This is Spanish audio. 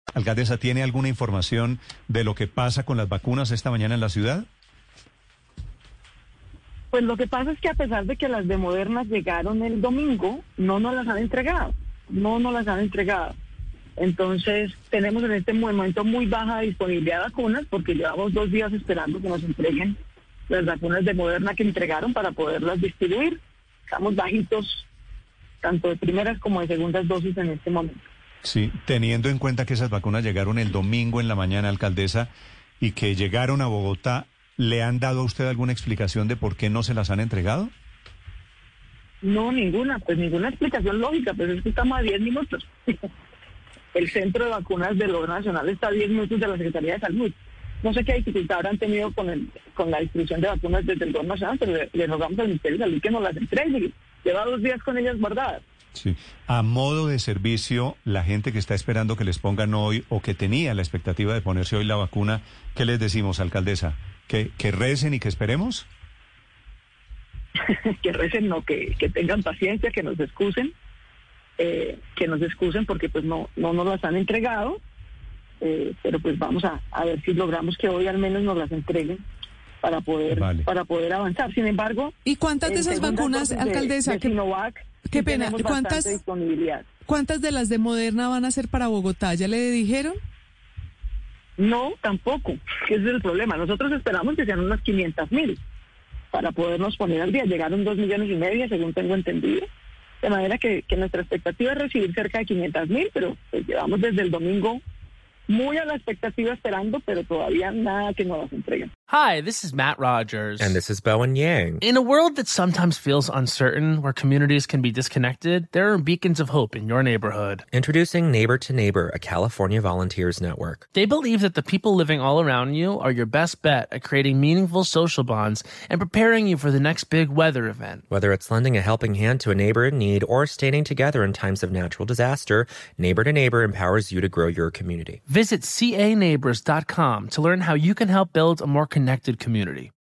Alcaldesa, ¿tiene alguna información de lo que pasa con las vacunas esta mañana en la ciudad? Pues lo que pasa es que a pesar de que las de Moderna llegaron el domingo, no nos las han entregado. Entonces tenemos en este momento muy baja disponibilidad de vacunas porque llevamos 2 días esperando que nos entreguen las vacunas de Moderna que entregaron para poderlas distribuir. Estamos bajitos, tanto de primeras como de segundas dosis en este momento. Sí, teniendo en cuenta que esas vacunas llegaron el domingo en la mañana, alcaldesa, y que llegaron a Bogotá, ¿le han dado a usted alguna explicación de por qué no se las han entregado? No, ninguna explicación lógica, pues es que estamos a 10 minutos. El centro de vacunas del Gobierno Nacional está a 10 minutos de la Secretaría de Salud. No sé qué dificultad habrán tenido con la distribución de vacunas desde el Gobierno Nacional, pero le rogamos al Ministerio de Salud que nos las entregue. Lleva 2 días con ellas guardadas. Sí. A modo de servicio, la gente que está esperando que les pongan hoy o que tenía la expectativa de ponerse hoy la vacuna, ¿qué les decimos, alcaldesa? ¿Que recen y que esperemos? Que recen, no, que tengan paciencia, que nos excusen, porque pues no nos las han entregado, pero pues vamos a ver si logramos que hoy al menos nos las entreguen para poder avanzar. Sin embargo, ¿y cuántas de esas vacunas, alcaldesa? De Sinovac, qué pena, tenemos bastante disponibilidad. ¿Cuántas de las de Moderna van a ser para Bogotá? ¿Ya le dijeron? No, tampoco, que ese es el problema. Nosotros esperamos que sean unas 500,000 para podernos poner al día. Llegaron 2,5 millones, según tengo entendido. De manera que nuestra expectativa es recibir cerca de 500,000, pero pues llevamos desde el domingo muy a la expectativa esperando, pero todavía nada que nos las entreguen. Hi, this is Matt Rogers. And this is Bowen Yang. In a world that sometimes feels uncertain, where communities can be disconnected, there are beacons of hope in your neighborhood. Introducing Neighbor to Neighbor, a California volunteers network. They believe that the people living all around you are your best bet at creating meaningful social bonds and preparing you for the next big weather event. Whether it's lending a helping hand to a neighbor in need or standing together in times of natural disaster, Neighbor to Neighbor empowers you to grow your community. Visit caneighbors.com to learn how you can help build a more connected community.